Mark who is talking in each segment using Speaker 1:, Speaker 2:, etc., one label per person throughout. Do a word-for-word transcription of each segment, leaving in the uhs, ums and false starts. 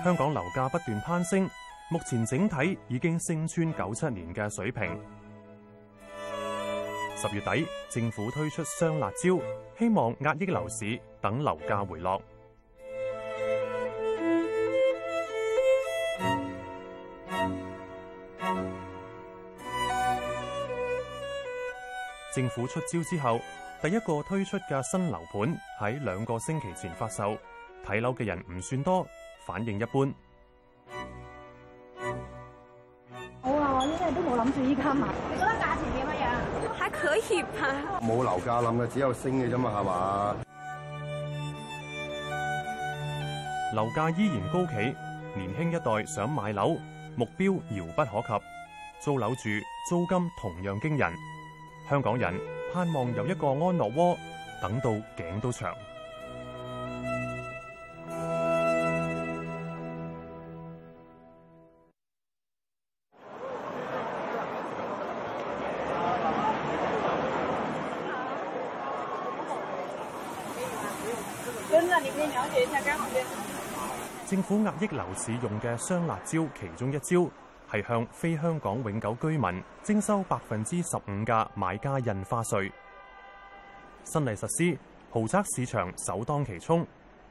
Speaker 1: 香港樓價不斷攀升，目前整體已經升穿九七年嘅水平。十月底，政府推出雙辣招，希望壓抑樓市，等樓價回落。政府出招之後，第一個推出嘅新樓盤喺兩個星期前發售，睇樓嘅人唔算多，反應一般。
Speaker 2: 好啊，我依家都冇諗住依家買。你覺得價錢點樣？還可以吧。
Speaker 3: 冇樓價冧嘅，只有升嘅啫嘛，係嘛？
Speaker 1: 樓價依然高企，年輕一代想買樓，目標遙不可及。租樓住，租金同樣驚人。香港人盼望有一個安樂窩，等到頸都長。政府壓抑樓市用嘅雙辣招，其中一招係向非香港永久居民徵收百分之十五嘅買家印花稅。新例實施，豪宅市場首當其衝。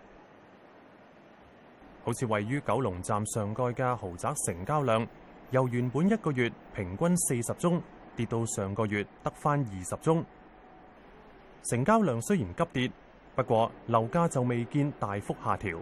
Speaker 1: 好似位於九龍站上蓋嘅豪宅成交量，由原本一個月平均四十宗，跌到上個月得返二十宗。成交量雖然急跌，不過樓價就未見大幅下調。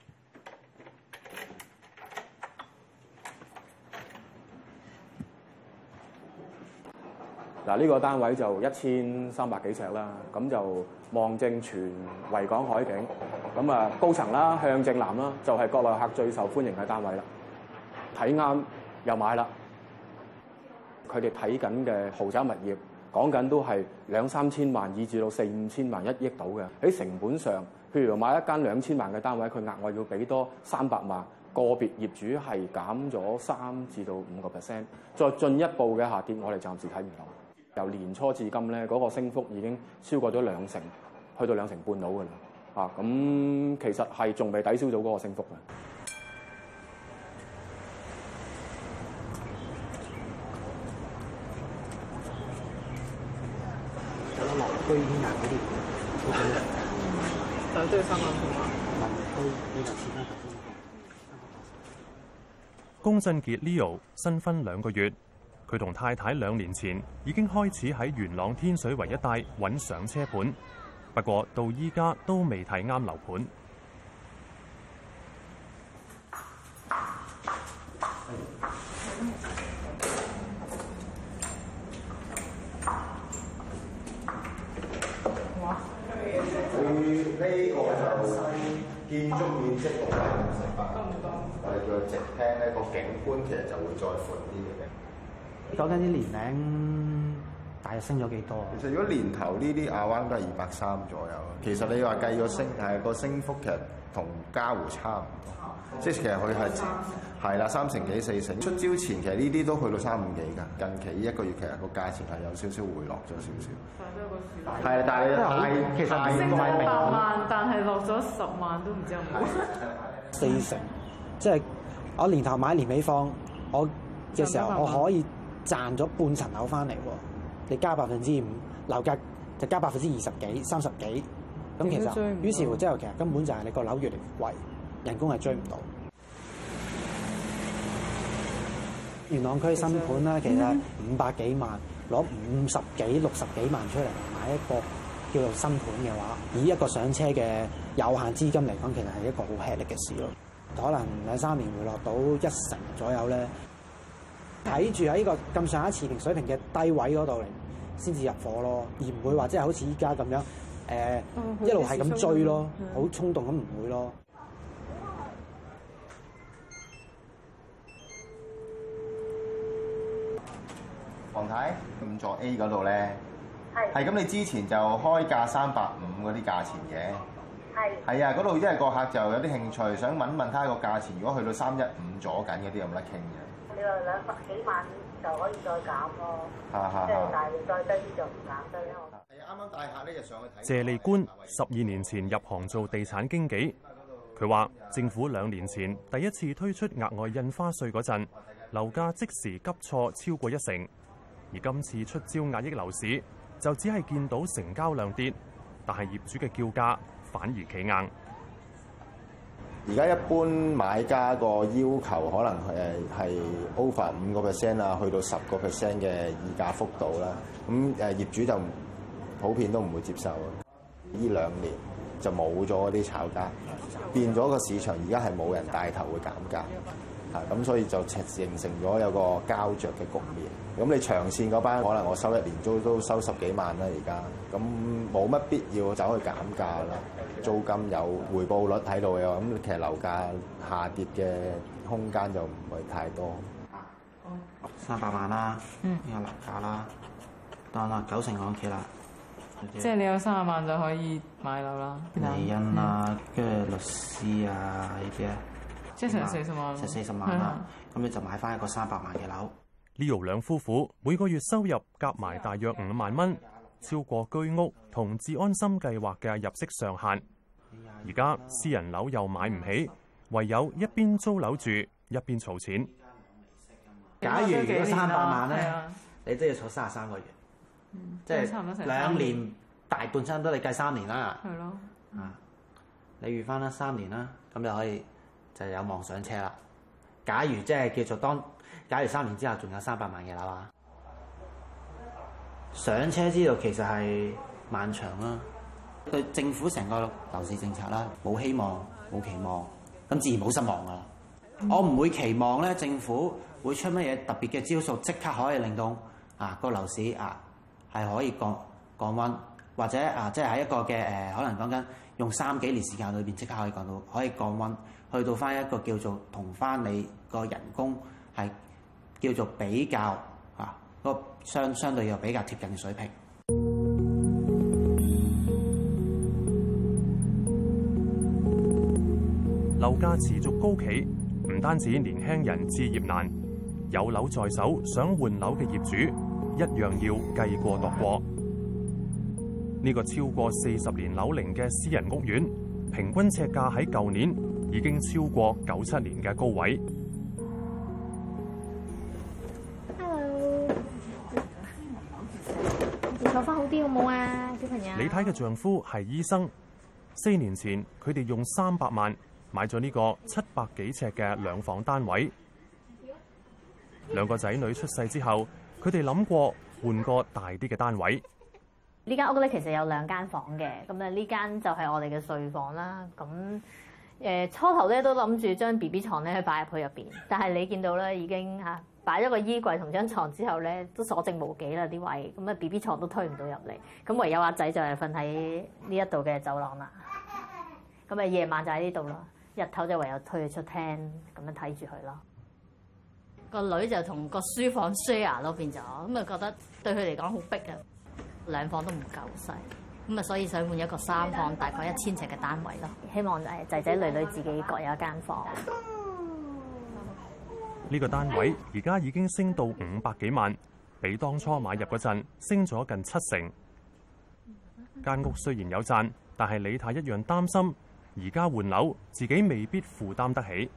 Speaker 4: 嗱，呢個單位就一千三百幾尺啦，咁就望正全維港海景，咁啊高層啦，向正南啦，就係國內客最受歡迎嘅單位啦。睇啱又買啦，佢哋睇緊嘅豪宅物業，講緊都係兩三千萬，以至到四五千萬、一億到嘅。喺成本上，譬如買一間兩千萬嘅單位，佢額外要俾多三百萬，個別業主係減咗三至到五個 percent， 再進一步嘅下跌，我哋暫時睇唔到。由年初至今咧，嗰個升幅已經超過咗兩成，去到兩成半到㗎啦。啊，咁其實係仲未抵消到嗰個升幅嘅。
Speaker 5: 有得落居啲嗰啲，
Speaker 6: 但係都要三萬同嘛。
Speaker 5: 民居呢個始終頭先
Speaker 1: 龔振傑 Leo 新婚兩個月。佢同太太兩年前已經開始喺元朗天水圍一帶揾上車盤，不過到依家都未睇啱樓盤。
Speaker 3: 哇！佢呢個就建築面積六百五十八，我哋叫直廳咧，個景觀其實就會再闊啲嘅。
Speaker 5: 講緊啲年齡大約升咗幾多？
Speaker 3: 其實如果年頭呢啲亞灣都係二百三左右。其實你話計個升係個升幅其實同嘉湖差唔多，即係其實佢係係啦三成幾四成。出招前其實呢啲都去到三五幾㗎。近期呢一個月其實個價錢係有少少回落咗少少。係，但係但
Speaker 6: 其實升咗八萬，但係落咗十萬都唔知有冇。
Speaker 5: 四成，即係我年頭買年尾放，我嘅時候我可以賺咗半層樓翻嚟喎，你加百分之五，樓價就加百分之二十幾、三十幾，咁其實於是乎之後其實根本就係你個樓越嚟越貴，人工係追唔到。元朗區新盤咧，其實五百幾萬，攞五十幾、六十幾萬出嚟買一個叫做新盤嘅話，以一個上車嘅有限資金嚟講，其實係一個好吃力嘅事咯。可能兩三年回落到一成左右咧。睇住喺呢個咁上下持平水平嘅低位嗰度嚟，先至入伙咯，而唔會話即係好似依家咁樣，誒、呃哦、一路係咁追咯，好衝動咁唔會咯。
Speaker 3: 黃太，五座 A 嗰度咧，係係咁，你之前就開價三百五嗰啲價錢嘅，係係啊，嗰度因為個客就有啲興趣，想問問睇個價錢，如果去到三一五左緊嗰啲有冇得傾嘅？
Speaker 2: 你話兩百幾萬就可以再減咯，即係但係再低啲就唔減得啦。係啱啱大客呢日上去睇。
Speaker 1: 謝利官十二年前入行做地產經紀， 佢話：政府兩年前第一次推出額外印花稅嗰陣，樓價即時急挫超過一成，而今次出招壓抑樓市，就只係見到成交量跌，但係業主嘅叫價反而企硬。
Speaker 3: 而家一般買家個要求可能誒係 over 五個 percent 啊，去到十個 percent 嘅議價幅度啦。咁誒業主就普遍都唔會接受。呢兩年就冇咗嗰啲炒家，變咗個市場而家係冇人帶頭會減價，嚇咁所以就形成咗有個膠着嘅局面。咁你長線嗰班可能我收一年租都收十幾萬啦，而家咁冇乜必要走去減價啦。租金有回報率喺度嘅，咁其實樓價下跌嘅空間就唔係太多。
Speaker 5: 三百萬啦，呢個樓價啦，當啦九成按揭啦。
Speaker 6: 即係你有三十萬就可以買樓啦。
Speaker 5: 厘印啊，跟住律師啊呢啲啊，
Speaker 6: 即係成四十萬。
Speaker 5: 成四十萬啦，咁你就買翻一個三百萬嘅樓。
Speaker 1: Leo 兩夫婦每個月收入夾埋大約五萬蚊，超過居屋同置安心計劃嘅入息上限。而家私人樓又買唔起，唯有一邊租樓住一邊儲錢。
Speaker 5: 假如如果三百萬咧，你都要儲三十三個月，嗯、即係兩年大半差唔多，你計三年啦。係咯。啊，你預翻啦三年啦，咁就可以就有望上車啦。假如即係叫做當，假如三年之後仲有三百萬嘅樓啊，上車之路其實係漫長啦。對政府成個樓市政策啦，冇希望冇期望，咁自然冇失望噶啦。嗯、我唔會期望咧，政府會出乜嘢特別嘅招數，即刻可以令到啊個樓市啊係可以降降溫，或者啊即係喺一個嘅誒、呃，可能講緊用三幾年時間裏邊即刻可以降到可以降溫，去到翻一個叫做同翻你個人工係叫做比較啊個相相對又比較貼近嘅水平。
Speaker 1: 樓價持續高企，唔單止年輕人置業難，有樓在手想換樓嘅業主一樣要計過度過。呢個超過四十年樓齡嘅私人屋苑，平均尺價喺舊年已經超過九七年嘅高位。
Speaker 2: Hello， 坐翻好啲好冇啊，小朋友。
Speaker 1: 李太嘅丈夫係醫生，四年前佢哋用三百萬買咗呢個七百幾尺嘅兩房單位。兩個仔女出世之後，佢哋諗過換個大啲嘅單位。
Speaker 2: 呢間屋咧其實有兩間房嘅，咁咧呢間就係我哋嘅睡房啦。咁誒、呃、初頭咧都諗住將 B B 床咧擺入去入邊，但係你見到咧已經嚇擺咗個衣櫃同張床之後咧都所剩無幾啦啲位，咁啊 B B 床都推唔到入嚟，咁唯有阿仔就係瞓喺呢一度嘅走廊啦。咁啊夜晚就喺呢度咯，日頭就唯有推佢出廳咁樣睇住佢咯。個女就同個書房 share 咯變咗，咁啊覺得對佢嚟講好逼啊。兩房都唔夠細，咁啊所以想換一個三房，大概一千尺嘅單位咯。希望誒仔仔女女自己各有一間房。
Speaker 1: 呢個單位而家已經升到五百幾萬，比當初買入嗰陣升咗近七成。間屋雖然有賺，但係李太一樣擔心，而家換樓自己未必負擔得起。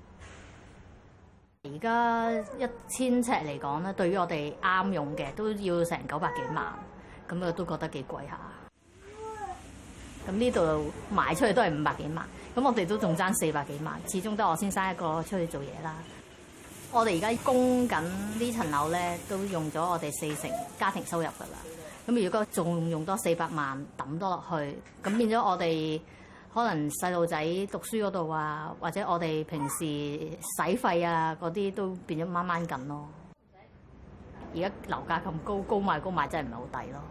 Speaker 2: 而家一千尺嚟講咧，對於我哋啱用嘅都要成九百幾萬。咁我都覺得幾貴下，咁呢度賣出去都係五百幾萬，咁我哋都仲爭四百幾萬，始終得我先生一個出去做嘢啦。我哋而家供緊呢層樓咧，都用咗我哋四成家庭收入噶啦。咁如果仲用多四百萬抌多落去，咁變咗我哋可能細路仔讀書嗰度啊，或者我哋平時使費啊嗰啲都變咗掹掹緊咯。而家樓價咁高，高賣高賣真係唔係好抵咯。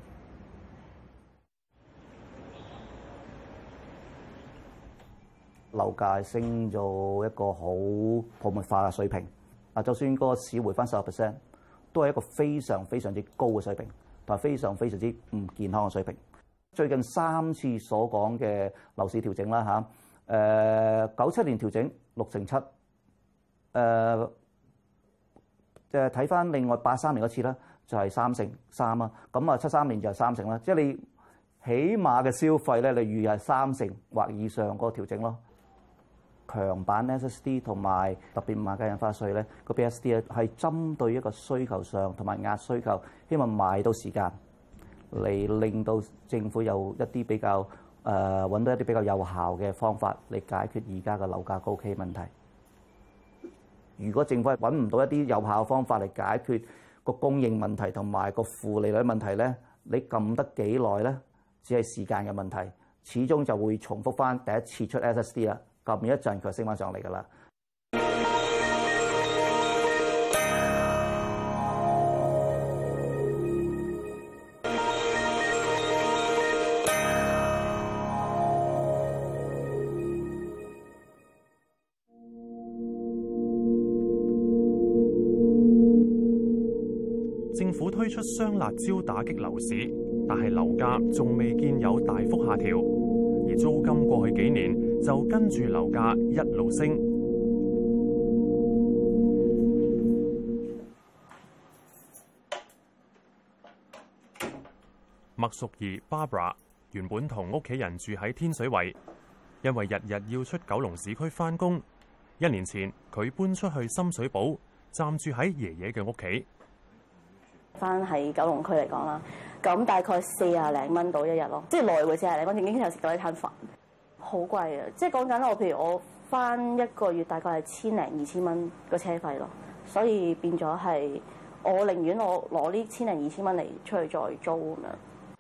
Speaker 7: 樓價升咗一個好泡沫化嘅水平，啊，就算個市回翻十個 percent，都係一個非常非常之高嘅水平，同埋非常非常之唔健康嘅水平。最近三次所講嘅樓市調整啦嚇，誒九七年調整六成七，誒即係睇翻另外八三年嗰次咧，就係三成三啦。咁啊七三年就係三成啦，即係你起碼嘅消費咧，你預係三成或以上嗰個調整咯。 強版 S S D 同埋特別買家印花稅咧，個 B S D 咧係針對一個需求上同埋壓需求，希望買到時間嚟令到政府有一啲比較誒揾、呃、到一啲比較有效嘅方法嚟解決而家嘅樓價高企問題。如果政府係揾唔到一啲有效嘅方法嚟解決個供應問題同埋個負利率問題咧，你撳得幾耐咧？只係時間嘅問題，始終就會重複翻第一次出 S S D 啦。撳一陣佢升翻上嚟㗎啦。
Speaker 1: 政府推出雙辣招打擊樓市，但係樓價仲未見有大幅下調，而租金過去幾年就跟住樓價一路升。麥淑儀 Barbara 原本同屋企人住喺天水圍，因為日日要出九龍市區返工，一年前佢搬出去深水埗，暫住喺爺爺嘅屋企。
Speaker 8: 翻喺九龍區嚟講啦，咁大概四廿零蚊到一日咯，即係來回四廿零蚊，已經有食到一餐飯，好貴啊！即係講緊我，譬如我翻一個月大概係千零二千蚊個車費咯，所以變咗係我寧願我攞呢千零二千蚊嚟出去再租咁樣。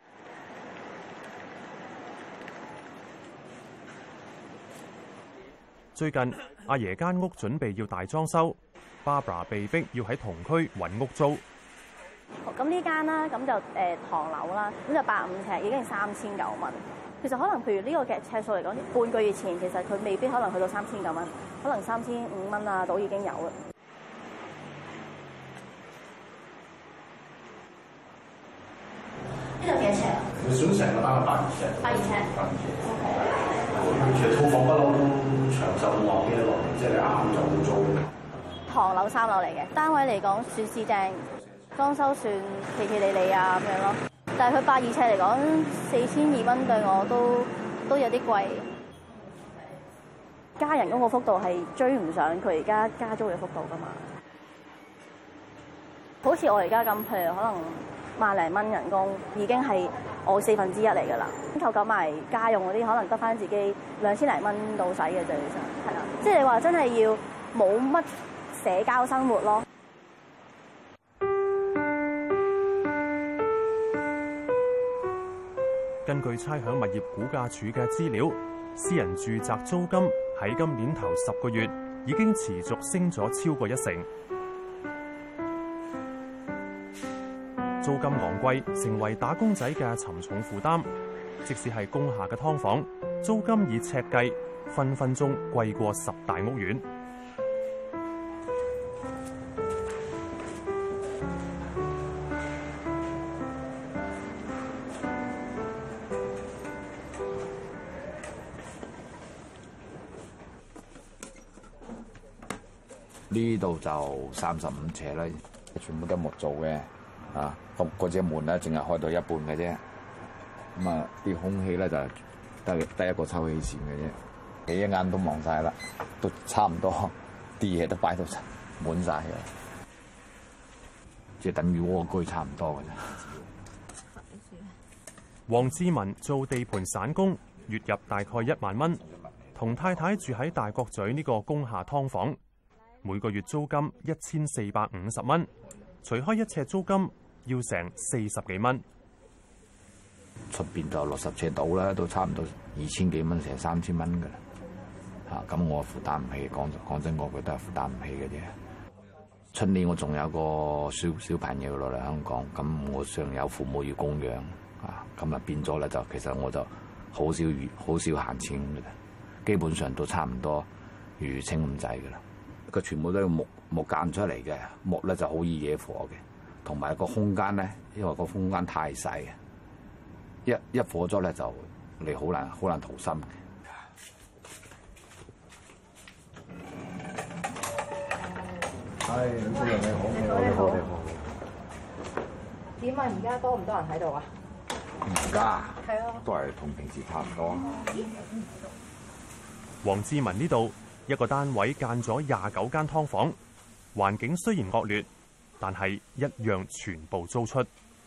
Speaker 1: 最近阿爺間屋準備要大裝修 ，Barbara 被逼要喺同區揾屋租。
Speaker 8: 咁呢間啦，咁就誒、呃、唐樓啦，咁就百五尺，已經係三千九蚊。其實可能譬如呢個嘅尺數嚟講，半個月前其實佢未必可能去到三千九蚊，可能三千五蚊啊，都已經有啦。呢度幾多尺啊？
Speaker 9: 佢想成個單係百二尺。
Speaker 8: 百二尺。
Speaker 9: 百二尺。其實套房不嬲都長壽冇話幾多耐，即係你啱啱就會租。
Speaker 8: 唐樓三樓嚟嘅，單位嚟講算市正。裝修算企企理理啊咁樣咯，但係佢百二尺嚟講，四千二蚊對我都都有啲貴。加人工個幅度係追唔上佢而家加租嘅幅度噶嘛。好似我而家咁，譬如可能萬零蚊人工已經係我四分之一嚟㗎啦。扣減埋家用嗰啲，可能得翻自己兩千零蚊到使嘅啫，其實係啦。即係你話真係要冇乜社交生活咯。
Speaker 1: 根據差餉物業估價署嘅資料，私人住宅租金喺今年頭十個月已經持續升咗超過一成。租金昂貴成為打工仔嘅沉重負擔，即使係工廈嘅劏房，租金以尺計，分分鐘貴過十大屋苑。
Speaker 10: 呢度就三十五尺啦，全部都木做嘅，啊，咁嗰隻門咧淨係開到一半嘅啫，咁啊啲空氣咧就得得一個抽氣扇嘅啫，你一眼都望晒啦，都差唔多，啲嘢都擺到滿晒嘅，即係等於蝸居差唔多嘅啫。
Speaker 1: 黃志文做地盤散工，月入大概一萬蚊，同太太住喺大角咀呢個工廈劏房。每個月租金一千四百五十蚊，除開一尺租金要成四十幾蚊。
Speaker 10: 出邊就六十尺到啦，都差唔多二千幾蚊，成三千蚊噶啦。嚇，咁我負擔唔起，講講真，我覺得係負擔唔起嘅啫。出年我仲有個小小朋友落嚟香港，咁我上有父母要供養，啊，咁啊變咗咧就其實我就好少好少閒錢嘅啦，基本上都差唔多餘清咁滯嘅啦。佢全部都係木木間出嚟嘅，木咧就好易惹火嘅，同埋個空間咧，因為個空間太細，一一火咗咧就你好難好難逃生嘅。
Speaker 3: 係，主任你好，你好，你好，你好。
Speaker 11: 點啊？而家多唔多人喺度啊？
Speaker 10: 而家
Speaker 11: 係啊，
Speaker 10: 都係同平時差唔多。
Speaker 1: 黃志文呢度一個單位間咗廿九間劏房，環境雖然惡劣，但係一樣全部租出。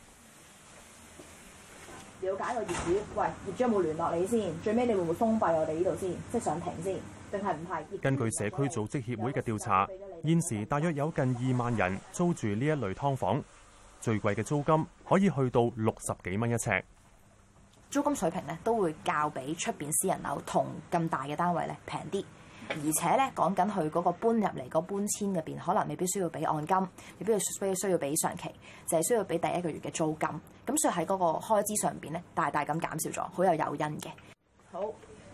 Speaker 11: 了解個業主，喂，業主有冇聯絡你先？最尾你會唔會封閉我哋呢度先？即係上庭先，定係唔係？
Speaker 1: 根據社區組織協會嘅調查，現時大約有近二萬人租住呢一類劏房，最貴嘅租金可以去到六十幾蚊一尺。
Speaker 11: 租金水平咧都會較比出邊私人樓同咁大嘅單位咧平啲，而且咧講緊佢嗰個搬入嚟嗰搬遷入邊，可能未必需要俾按金，未必需需要俾上期，就係需要俾第一個月嘅租金。咁所以喺嗰個開支上邊咧，大大咁減少咗，好有誘因嘅。好，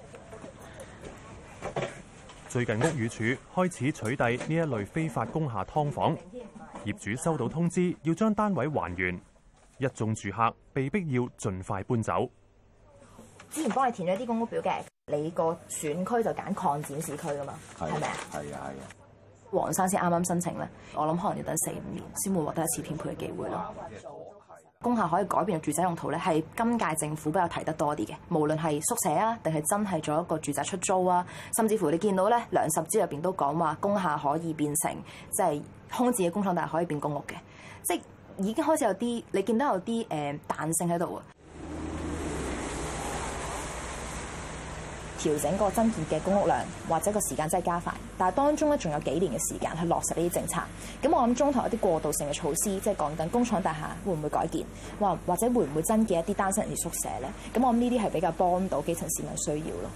Speaker 1: 最近屋宇署開始取締呢一類非法工廈劏房，業主收到通知要將單位還原，一眾住客被逼要盡快搬走。
Speaker 11: 之前幫你填咗啲公屋表嘅，你個選區就揀擴展市區噶嘛，係咪啊？
Speaker 10: 係啊係啊。
Speaker 11: 黃生先啱啱申請咧，我諗可能要等四五年先會獲得一次編配嘅機會咯。工廈可以改變嘅住宅用途咧，係今屆政府比較提得多啲嘅，無論係宿舍啊，定係真係做一個住宅出租啊，甚至乎你見到咧梁十招入邊都講話工廈可以變成即係空置嘅工廠，但係可以變公屋嘅，即係已經開始有啲你見到有啲誒彈性喺度啊。調整個增建嘅公屋量，或者個時間真係加快，但係當中咧仲有幾年嘅時間去落實呢啲政策。咁我諗中途有啲過渡性嘅措施，即係講緊工廠大廈會唔會改建，或或者會唔會增建一啲單身人士宿舍咧？咁我諗呢啲係比較幫到基層市民需要咯。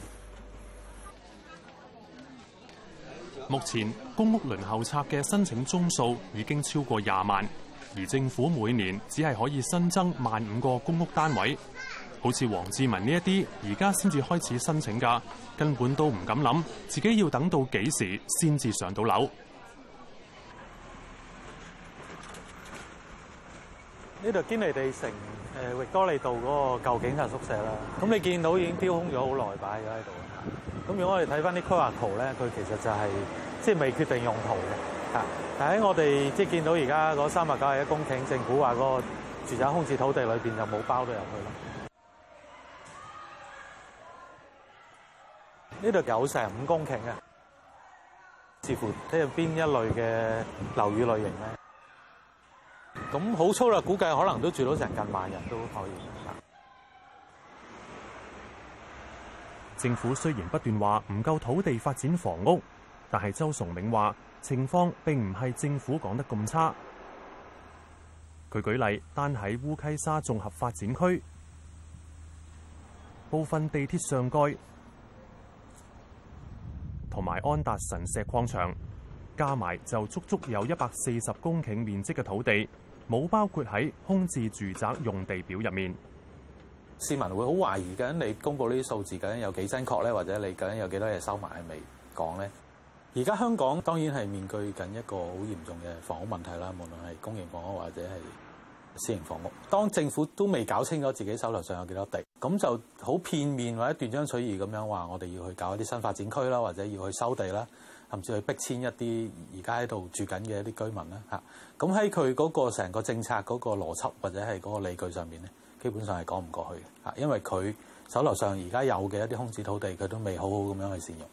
Speaker 1: 目前公屋輪候冊嘅申請宗數已經超過廿萬，而政府每年只係可以新增萬五個公屋單位。好似黃志文呢一啲，而家先至開始申請㗎，根本都唔敢諗自己要等到幾時先至上到樓。
Speaker 12: 呢度堅尼地城誒域多利道嗰個舊警察宿舍啦，咁你見到已經丟空咗好耐，擺咗喺度。咁如果我哋睇翻啲規劃圖咧，佢其實就係即係未決定用途嘅嚇。但喺我哋即係見到而家嗰三百九十一公頃，政府話嗰個住宅空置土地裏邊就冇包到入去咯。呢度有成五公頃嘅，視乎睇下邊一類嘅樓宇類型咧。咁好粗略估計，可能都住到成近萬人都可以。
Speaker 1: 政府雖然不斷話唔夠土地發展房屋，但係周崇銘話情況並唔係政府講得咁差。佢舉例，單喺烏溪沙綜合發展區，部分地鐵上蓋同埋安達臣石礦場加埋就足足有一百四十公頃面積嘅土地，冇包括喺空置住宅用地表入面。
Speaker 13: 市民會好懷疑緊你公佈呢啲數字究竟有幾真確咧，或者你究竟有幾多嘢收埋係未講咧？而家香港當然係面對緊一個好嚴重嘅房屋問題啦，無論係公營房屋或者係私營房屋。當政府都未搞清楚自己手頭上有幾多地，咁就好片面或者斷章取義咁樣話，我哋要去搞一啲新發展區啦，或者要去收地啦，甚至去逼遷一啲而家喺度住緊嘅一啲居民啦嚇。咁喺佢嗰個成個政策嗰個邏輯或者係嗰個理據上面咧，基本上係講唔過去嘅嚇，因為佢手頭上而家有嘅一啲空置土地，佢都未好好咁樣去善用。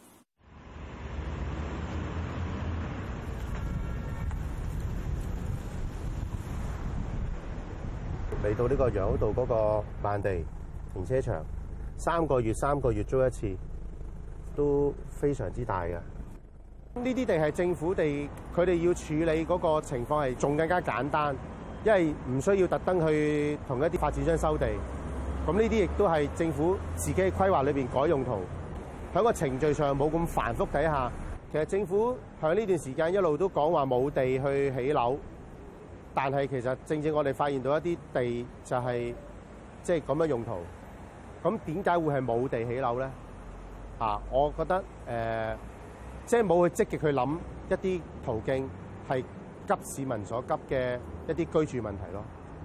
Speaker 14: 嚟到呢個楊屋道嗰個萬地停車場，三個月三個月租一次，都非常之大嘅。呢啲地係政府地，佢哋要處理嗰個情況係仲更加簡單，因為唔需要特登去同一啲發展商收地。咁呢啲亦都係政府自己嘅規劃裏邊改用途，喺個程序上冇咁繁複底下，其實政府喺呢段時間一路都講話冇地去起樓。但係其實正正我哋發現到一啲地就係即係咁樣用途，咁點解會係冇地起樓咧？啊，我覺得誒，即係冇去積極去諗一啲途徑係急市民所急嘅一啲居住問題咯。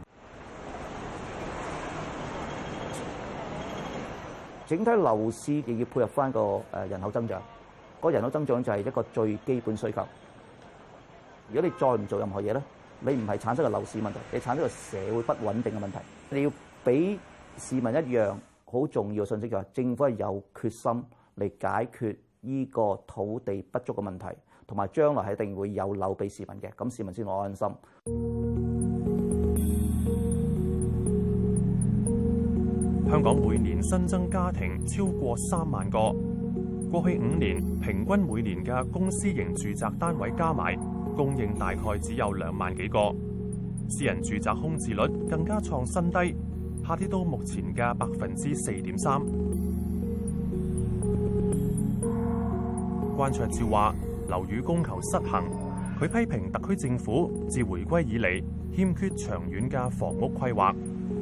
Speaker 7: 整體樓市亦要配合翻個誒人口增長，嗰人口增長就係一個最基本需求。如果你再唔做任何嘢咧，你唔係產生個樓市問題，你產生個社會不穩定嘅問題。你要俾市民一樣好重要嘅信息，就係政府係有決心嚟解決呢個土地不足嘅問題，同埋將來係一定會有樓俾市民嘅，咁市民先我安心。
Speaker 1: 香港每年新增家庭超過三萬個，過去五年平均每年嘅公私營住宅單位加埋供應大概只有兩萬幾個，私人住宅空置率更加創新低，下跌到目前嘅百分之四點三。關焯照話：樓宇供求失衡，佢批評特區政府自回歸以嚟欠缺長遠嘅房屋規劃。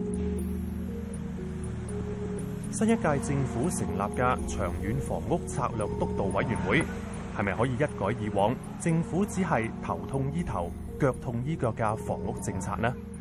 Speaker 1: 新一屆政府成立嘅長遠房屋策略督導委員會，係咪可以一改以往政府只係頭痛醫頭、腳痛醫腳嘅房屋政策呢？